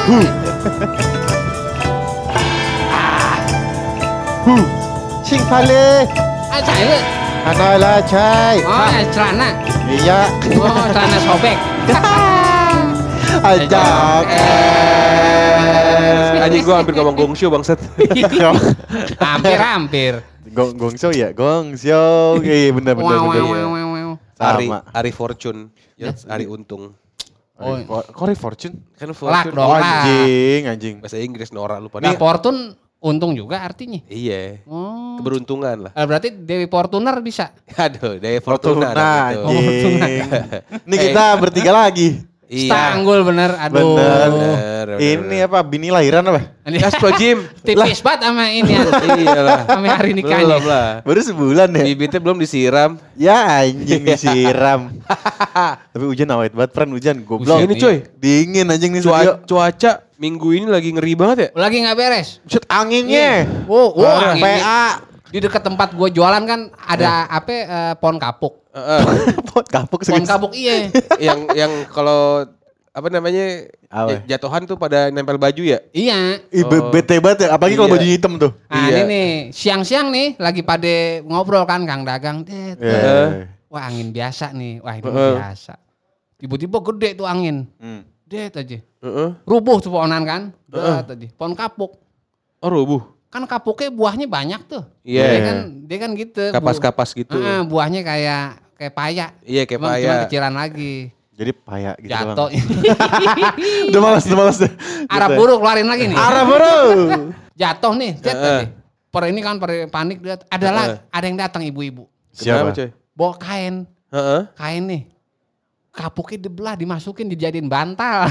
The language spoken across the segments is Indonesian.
Sing pale. Ah, cai. Analah cai. Oh, celana. Iya. Oh, celana sobek. Ajak. Anjing gua hampir ngomong gongsyo bangsat. Hampir. Gongsyo ya, gongsyo. Iya benar. Ari Fortune, ya, Ari Untung. Oh, Kori Fortune? Kan Lak Fortune. dong. Anjing. Bahasa Inggris norak lupa. Nah, Fortune untung juga artinya. Iya. Oh. Keberuntungan lah. Berarti Dewi Fortuner bisa. Aduh, Dewi Fortuna. Gitu. Ini kita bertiga lagi. Iya. Stanggul bener. Aduh. Bener. Ini apa? Bini lahiran apa? Astagfirullahaladzim. Tipis banget sama ini ya. Iyalah. Sama hari nikahnya. Belum lah. Baru sebulan ya? Bibitnya belum disiram. Ya anjing disiram. Tapi hujan awet banget, Pran hujan. Goblok. Ini coy. Dingin anjing nih studio. Cuaca minggu ini lagi ngeri banget ya. Lagi nggak beres. Buset anginnya. Angin. PA. Di dekat tempat gue jualan kan ada pohon kapuk. Pot kapuk Pohon kapuk iya. yang kalau apa namanya Apa? jatuhan tuh pada nempel baju ya. Iya. Bete banget ya, apalagi kalau Iya. baju hitam tuh. Nah Iya. ini nih, siang-siang nih lagi pada ngobrol kan Kang Dagang. Wah angin biasa nih, wah ini biasa. Tiba-tiba gede tuh angin. Det aja. Rubuh tuh pohonan kan. Det aja. Pohon kapuk. Oh rubuh. Kan kapuknya buahnya banyak tuh. Iya. Dia kan gitu. Kapas-kapas gitu. Buahnya kayak paya. Iya kayak Cuma paya. kecilan lagi. Jadi payah gitu Jatuh. Udah malas deh. Arah buruk keluarin lagi nih. Arah bro. Jatuh nih. Tadi. Ini kan panik dia. Ada yang datang ibu-ibu. Siapa? Coy? Bawa kain. Kain nih. Kapuknya dibelah, dimasukin, dijadiin bantal.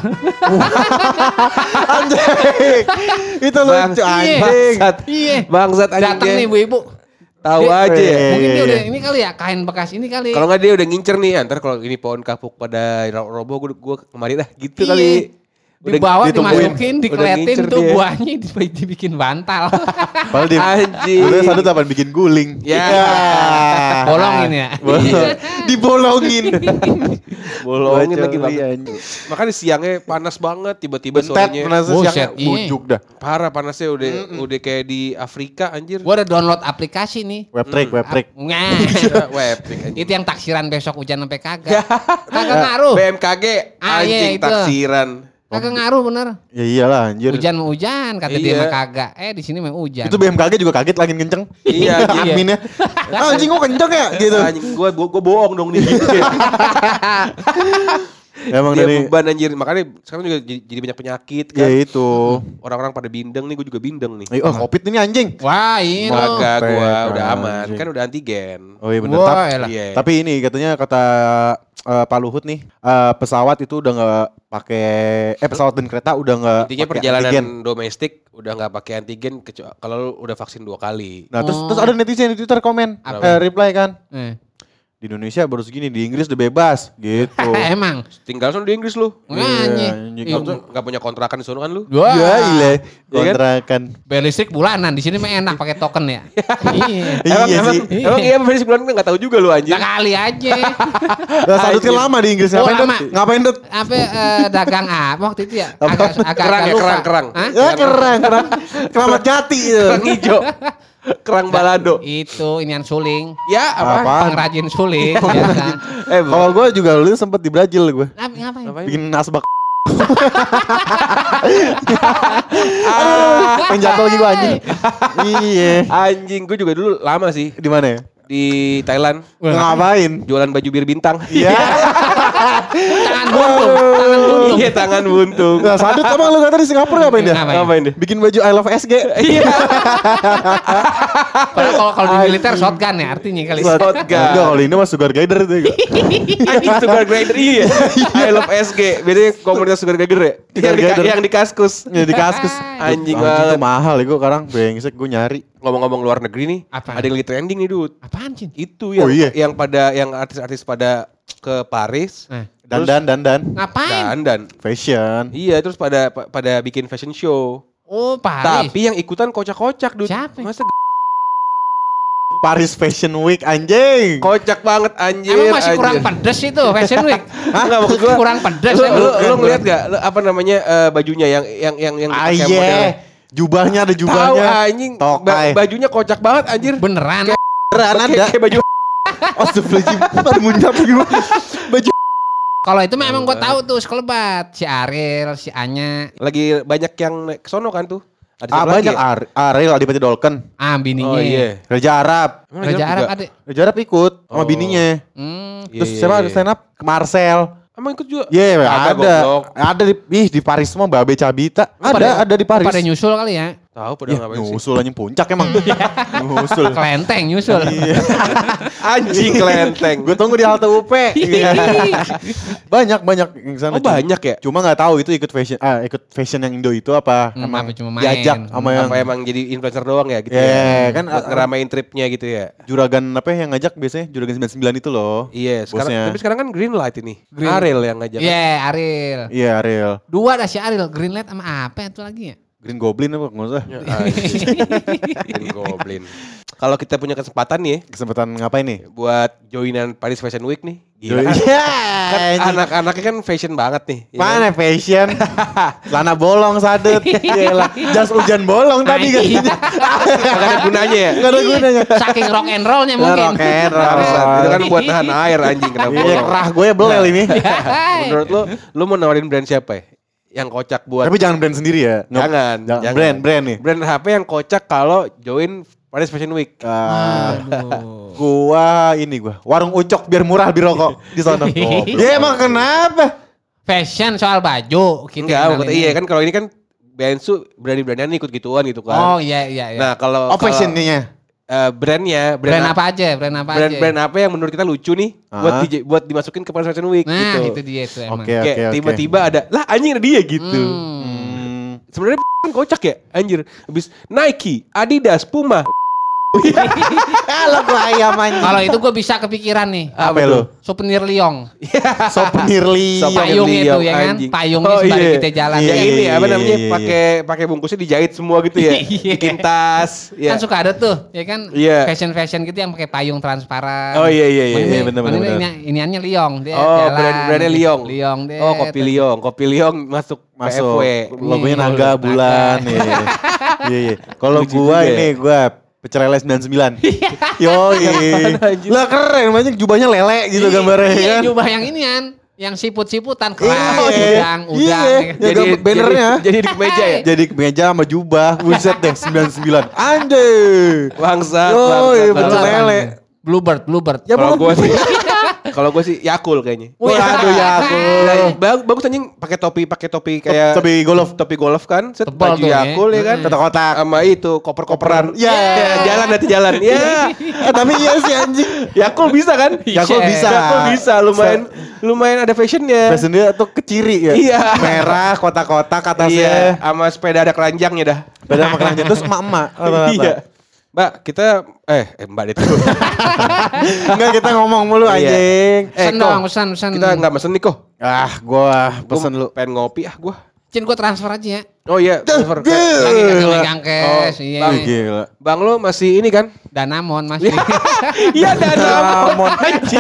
Anjing. Itu lucu anjing. Iya. Bangsat anjing. Datang nih ibu-ibu. Tahu aja ya. Mungkin dia udah ini kali ya, kain bekas ini kali. Kalau nggak dia udah ngincer nih, ntar kalau ini pohon kapuk pada roboh gue kemari dah gitu Iya. kali. Dibawa, ditungguin. dimasukin, Udah dikeletin ngincer tuh dia. buahnya dibikin bantal. Padahal dia Anjing. udah sadut apa bikin guling. Ya. Bolongin ya. Dibolongin. Bolongin lagi Bocor, banget. iya. Makanya siangnya panas banget, tiba-tiba Bentet sorenya. pernah Buset, siangnya iya. bujuk dah. Parah panasnya udah kayak di Afrika anjir. Gua udah download aplikasi nih. Web trick. Nah, Web anjir. itu yang taksiran besok hujan sampai kagak. Kagak ngaruh. BMKG Ah, iya, anjing itu. taksiran. Kagak ngaruh bener. Ya iyalah anjir. Hujan mau hujan, kata dia Iya. mah kagak. Di sini mah hujan. Itu BMKG juga kaget lagi kenceng. Iya, iya. Adminnya. Anjing kok kenceng ya gitu. Anjing gua bohong dong nih. Emang Dia dari beban anjir. Makanya sekarang juga jadi banyak penyakit kan. ya itu. Orang-orang pada bindeng nih, gue juga bindeng nih. Oh Covid ini anjing. Wah, ini loh. Kagak gua udah Anjing. aman. Kan udah antigen. Oh iya bener. Wah, elah. Iya. Tapi ini katanya kata Pak Luhut nih, pesawat itu udah nggak pakai pesawat dan kereta udah nggak Intinya pakai perjalanan antigen. domestik udah nggak pakai antigen kalau lu udah vaksin 2 kali. Nah terus ada netizen di Twitter komen, reply kan, di Indonesia baru segini, di Inggris udah bebas gitu. Emang. Tinggal sono di Inggris lu. Nyanyi. anjing. Nggak punya kontrakan di sono kan lu? Wah. Ya iya, kan? kontrakan. Bayar listrik bulanan, di sini mah enak pakai token ya. Iya. Iya sih. Emang iya beli sebulan nggak tahu juga lu anjir. Nah, kali aja. Lah sadut kan lama di Inggris, Oh, ngapain lama. Dut? Ngapain Dut? Apa dagang apa waktu itu ya? Apa? Kerang ya, lupa. kerang. Hah? Ya keren. Keramat Jati itu. Kerang hijau. Kerang balado. Itu inian suling. Ya apa? Apa? Pengrajin suling biasa. Kalau gue juga dulu sempet di Brazil gue. Ngapain? Bikin asbak. Penjatuh lagi gue anjing. Iya. Anjing gue juga dulu lama sih Di mana ya? di Thailand. Ngapain? Jualan baju bir bintang. Iya. Tangan buntung. Tangan buntung. Iya tangan buntung. Nah, sadut emang lu kata di Singapura ngapain dia? Ngapain? deh? Bikin baju I love SG. Iya. Padahal kalau di militer shotgun ya artinya kali. Shotgun. Enggak, kalau ini mah sugar glider itu. Anjing sugar glider iya. I love SG. Bedanya komunitas sugar glider ya. Sugar glider. Yang di kaskus. Ya di kaskus. Anjing Itu banget. mahal ya gue sekarang brengsek gue nyari. Ngomong-ngomong luar negeri nih. Apa? Ada yang lagi trending nih Dut. Apaan Cin? Itu Oh, yang iya. yang artis-artis pada ke Paris. Dandan. Ngapain? Dan Fashion. iya terus pada bikin fashion show. Oh Paris. Tapi yang ikutan kocak-kocak Dut. Siapa? Masa Paris Fashion Week anjing. Kocak banget anjir. Emang masih kurang pedes itu Fashion Week. Enggak maksud gua. Kurang pedes. Lu ngeliat gak apa namanya bajunya yang dipakai modelnya? Jubahnya ada Tahu jubahnya. anjing. Tokai. Bajunya kocak banget anjir. Beneran. Beneran ada. Kayak baju Astagfirullahaladzim. Baru muncul gimana? Baju. Kalau itu mah emang gue tahu tuh sekelebat. Si Ariel, si Anya. lagi banyak yang naik ke sono kan tuh. Ada siapa Banyak lagi ya? Ariel Adipati Dolken. Bininya. Oh iya. Raja Arab. Raja Arab ada. Raja Arab ikut sama bininya. Terus siapa ada stand up? Marcel. Emang ikut juga? Iya, Kagak, ada. goblok. Ada di Paris semua Babe Cabita. Ada di Paris. Pada nyusul kali ya. Tahu pada ngapain sih? Nyusul aja puncak emang. Nyusul. Kelenteng nyusul. Anjing kelenteng. Gue tunggu di halte UP. banyak yang sana. Oh banyak ya? Cuma nggak tahu itu ikut fashion yang Indo itu apa emang apa cuma main? diajak sama yang Apa emang jadi influencer doang ya gitu ya? Kan buat ngeramein tripnya gitu ya. Juragan apa yang ngajak biasanya Juragan 99 itu loh. Iya, Bosnya. tapi sekarang kan Greenlight ini. Ariel yang ngajak. Iya, Ariel. Iya Ariel. 2 ada si Ariel, Greenlight sama apa itu lagi ya? Green Goblin apa nggak usah. Green Goblin. Kalau kita punya kesempatan nih Kesempatan ngapain nih? buat joinan Paris Fashion Week nih. Gila kan? Iya. Kan anak-anaknya kan fashion banget nih. ya kan? Mana fashion? Celana bolong sadut. Iyalah. Jas hujan bolong tadi kan. Gak ada gunanya ya. Gak ada gunanya. Saking rock and rollnya mungkin. Rock and roll. Bangsat. Itu kan buat nahan air anjing kenapa? Iya kerah gue belel ini. Menurut lu mau nawarin brand siapa ya? Yang kocak buat Tapi jangan brand sendiri ya. Jangan. Brand nih. Brand HP yang kocak kalau join Paris Fashion Week. Gua warung ucok biar murah di rokok di sana. Ya emang kenapa? Fashion soal baju gitu. Enggak, maksudnya iya kan kalau ini kan Bensu berani-beranian ikut gituan gitu kan. Oh iya. Nah, kalau Fashionnya. brandnya Brand apa aja? brand apa yang menurut kita lucu nih buat dimasukin ke Paris Fashion Week Nah, gitu. itu dia itu emang. Kayak tiba-tiba ada lah anjing ada dia gitu. Sebenarnya kan kocak ya anjir. Habis Nike, Adidas, Puma. Kalau gua ayam anjing. Kalau itu gue bisa kepikiran nih. Apa lu? Souvenir Liong. Souvenir Liong. Payung itu ya kan? anjing. Payungnya sembari kita jalan. Yang Iya, ini apa iya, namanya? iya. Pakai bungkusnya dijahit semua gitu ya. Iya. Bikin tas. Kan suka ada tuh, ya kan? Iya. Fashion gitu yang pakai payung transparan. Oh iya. bener. Iniannya Liong. Dia Oh, jalan. brandnya Liong. Liong deh. Oh, Kopi Liong masuk Masuk. PFW. Logonya naga bulan. Iya. Kalau Lucu gua juga ya. gua Pecerele 99. Yoi. anjing? Lah keren, banyak jubahnya lele gitu gambarnya Iya, kan. jubah yang inian. Yang siput-siputan Iya. keras, udang. Iya. Ya kan? Jadi bannernya. Jadi di kemeja ya. Jadi meja sama jubah, buset deh 99. Anjay. Bangsat. Yoi, bangsat. Pecerele. Bluebird. Ya Kalau belum. Kalau gue sih Yakul kayaknya. Waduh ya aku. Bagus anjing pakai topi kayak topi golf kan. Set Tebal baju tuh ya. Yakul ya kan. Kotak-kotak. Sama itu koper-koperan. Ya. Jalan nanti jalan. Ya. Tapi iya sih anjing. Yakul bisa kan? Yakul bisa. Yakul bisa lumayan ada fashionnya. Fashion dia tuh keciri ya. Iya. Merah, kotak-kotak Iya, atasnya. sama sepeda ada keranjangnya dah. Beda makanannya terus emak-emak. Iya. Mbak, kita Mbak itu. Enggak kita ngomong mulu Iya. anjing. Pesan dong, pesan. Kita enggak mesen nih kok. Gua pesen lu. Pengen ngopi gua. Cin gue transfer aja ya. Oh iya, transfer. Lagi kagak megang cash. Oh, Iya. Bang. Gila. Bang lo masih ini kan? Danamon masih. Iya Danamon anjing.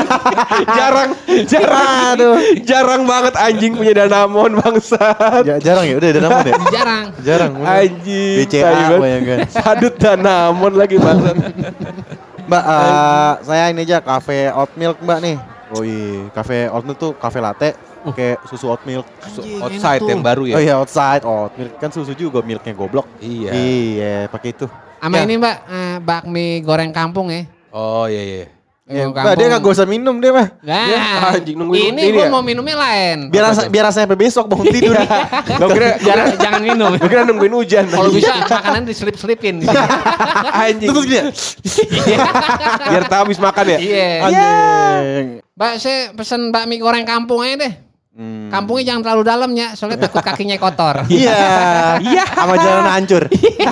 Jarang banget anjing punya Danamon bangsat. Jarang ya? Udah Danamon ya? Jarang. Anjing. BCA tai banget. bayangkan. Sadut Danamon lagi bangsat. Mbak, saya ini aja cafe oat milk Mbak nih. Woi, cafe oat milk tuh cafe latte pakai susu oat milk. Outside yang baru ya. Oh iya outside oat milk kan susu juga milknya goblok. Iya. Iya, pakai itu. Sama Ya. ini Mbak, bakmi goreng kampung ya. Oh iya. Ya, Mbak, dia nggak usah minum dia mah. Nah, Ya, anjing, nungguin ini ini gue ya? mau minumnya lain. Biar rasanya sampai besok bangun tidur. Gue kira Jangan minum. Gue kira nungguin hujan. Kalau bisa makanan diselip-selipin. Anjing. Terus gini. Biar tahu habis makan ya. Iya. Anjing. Mbak, saya pesen bakmi goreng kampung aja deh. Kampungnya jangan terlalu dalam ya, soalnya takut kakinya kotor. Iya. Sama jalan hancur.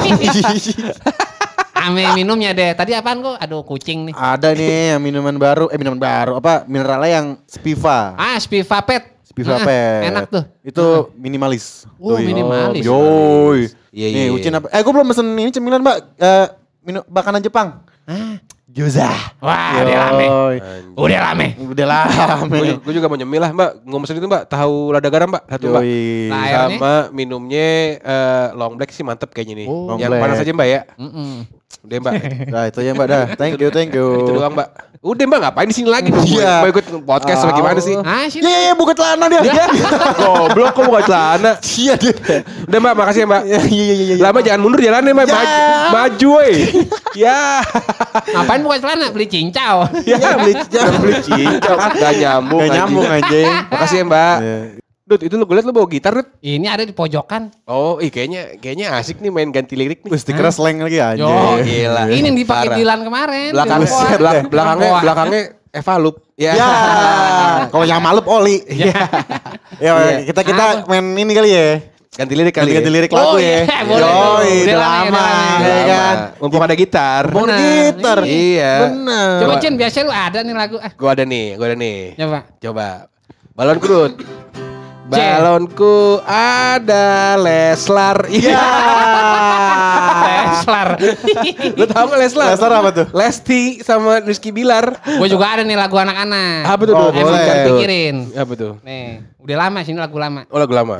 Ame minumnya deh. Tadi apaan kok? Aduh kucing nih. Ada nih yang minuman baru apa mineralnya yang Spiva. Spiva Pet. Spiva Nah, Pet. enak tuh. Itu minimalis. Oh, Tuh, minimalis. Yoi. Iya, Nih, iya. Ucin apa? Gue belum pesen ini cemilan, Mbak. Makanan Jepang. Juzah. Wah, udah rame. Udah rame. Gue juga mau nyemil lah Mbak. Ngomong itu Mbak, tahu lada garam Mbak? Satu Mbak. Nah, sama minumnya long black sih mantep kayaknya nih. Oh, yang panas aja Mbak ya. Udah Mbak. Nah itu ya Mbak dah. Thank you. Itu doang Mbak. Udah Mbak, ngapain di sini lagi? Mau ikut podcast apa gimana sih? Ah, sini. Iya, buka celana dia. Goblok kok buka celana. Iya dia. Udah Mbak, makasih ya Mbak. Iya. Lama jangan mundur jalannya Mbak. Maju woi. Ya. Ngapain buka celana? Beli cincau. Ya beli cincau. Gak nyambung anjing. Makasih ya Mbak. Dut, itu lu gue liat lu bawa gitar Dut. Ini ada di pojokan. Oh, kayaknya asik nih main ganti lirik nih. Stiker slang lagi anjing. Yo, gila. Ini yang dipakai Dilan kemarin. Belakangnya Evalup. Ya. Kalau yang malup oli. Ya, kita main ini kali ya. Ganti lirik kali. Ganti lirik lagu ya. Boleh. Udah lama ya kan. Mumpung ada gitar. Iya. Bener. Coba Cin, biasanya lu ada nih lagu. Gua ada nih. Coba. Balonku Dut. Balonku ada Leslar. Iya. Leslar. Lu tahu nggak Leslar? Leslar apa tuh? Lesti sama Rizky Bilar. Gue juga ada nih lagu anak-anak. Apa tuh? Boleh. Pikirin. Apa tuh? Nih, udah lama sini lagu lama. Oh lagu lama.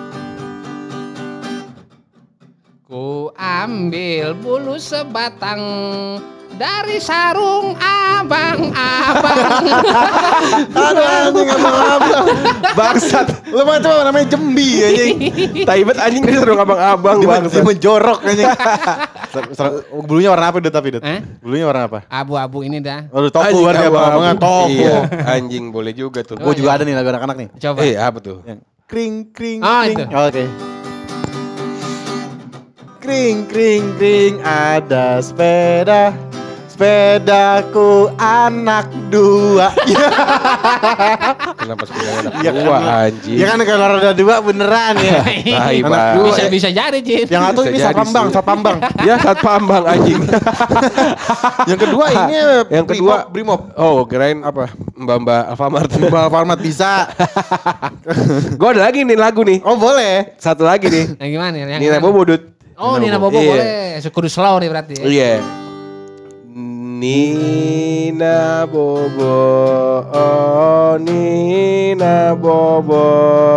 Ku ambil bulu sebatang dari sarung abang-abang. Aduh anjing abang-abang. Bangsat. Lu mah itu namanya jembi anjing. Taibet anjing dari sarung abang-abang. Dia menjorok anjing. Bulunya warna apa tapi Dut? Bulunya warna apa? Abu-abu ini dah. Aduh topu warna abang-abangan topu. Iya, anjing boleh juga tuh. Gue juga ada nih lagu anak-anak nih. Coba. Apa tuh? Yang kring. Itu. Oke. Kring ada sepedaku anak dua. Kenapa sepeda anak Ya dua kan, anjing? ya kan kalau roda dua beneran ya. Anak dua. Bisa jadi Cin. Yang satu ini Bisa jadi Satpambang. Ya Satpambang anjing. Yang kedua ini Yang kedua Brimob. Oh kirain apa? Mbak Alfamart. Mbak Alfamart bisa. Gue ada lagi nih lagu nih. Oh boleh. Satu lagi nih. Yang gimana? Yang Nina gimana? Bobo Dut. Oh Nina Bobo boleh. Kudu slow nih berarti ya. Iya. Nina Bobo, oh Nina Bobo.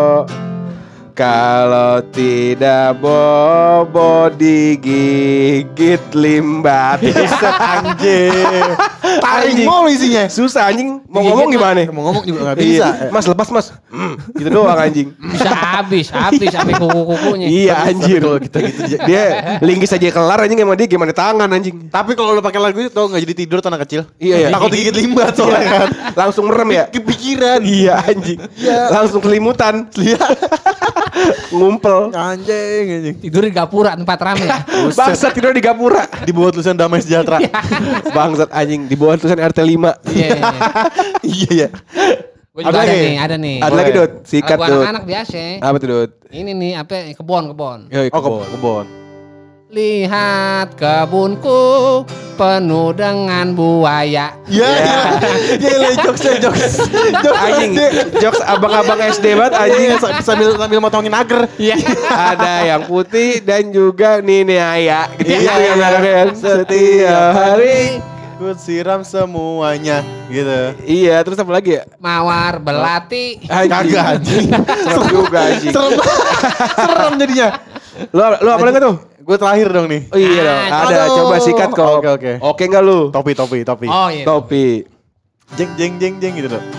Kalau tidak bobo digigit limbat. Bisa anjing. Taring mulu isinya. Susah anjing. Mau ngomong gimana? Mau ngomong juga gak bisa. Iya. Mas lepas mas. Gitu doang anjing. Bisa habis sampai kuku-kukunya. Iya anjir. Kalau kita gitu. Dia linggis aja kelar anjing emang dia gimana tangan anjing. Tapi kalau lu pakai lagu itu tau gak jadi tidur tuh anak kecil. Iya. Takut digigit limbah soalnya kan. Langsung merem ya. Kepikiran. Iya anjing. Langsung kelimutan. Ngumpel. Anjing. Tidur di gapura tempat rame. Bangsat tidur di gapura. Di bawah tulisan damai sejahtera. Bangsat anjing di bawah tulisan RT 5. Iya. Iya. Gue juga ada nih. Ada lagi Dut. Sikat Lagu Dut. anak-anak biasa. Apa tuh Dut? Ini nih apa kebon. Oh kebon. Lihat kebunku penuh dengan buaya. Iya. Jokes. Anjing. Jokes abang-abang SD banget anjing. Sambil motongin agar. Iya. Ada yang putih dan juga Nini Aya. Gitu Iya. Setiap hari. Ku siram semuanya gitu. Iya, terus apa lagi ya? Mawar belati. Kagak anjing. Serem juga anjing. Serem jadinya. Lu apa lagi tuh? Gue terakhir dong nih. Oh iya dong. Ada, aduh. coba sikat kok. Oke. Oke enggak lu? Topi. Oh iya. Topi. Jeng gitu loh.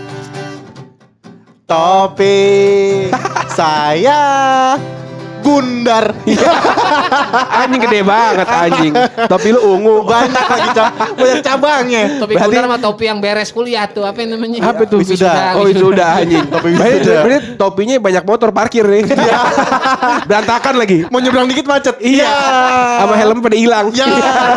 Topi saya bundar. Anjing gede banget anjing. Topi lu ungu. Banyak lagi banyak cabangnya. Topi kuda sama topi yang beres kuliah tuh apa namanya? Apa tuh? Wisuda. Oh wisuda anjing. Topi wisuda. Berarti topinya banyak motor parkir nih. Berantakan lagi. Mau nyebrang dikit macet. Iya. Sama helm pada hilang. Ya.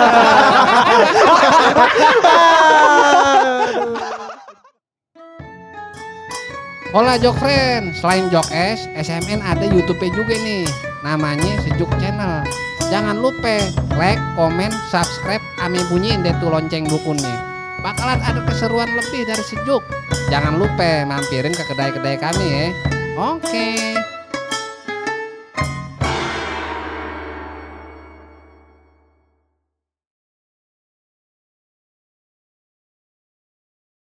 Hola Jok Friend, selain Jok S, SMN ada YouTube-nya juga nih. Namanya Sejuk Channel. Jangan lupa like, komen, subscribe, ame bunyiin deh tuh lonceng dukunnya. Bakalan ada keseruan lebih dari Sejuk. Jangan lupa mampirin ke kedai-kedai kami ya. Oke.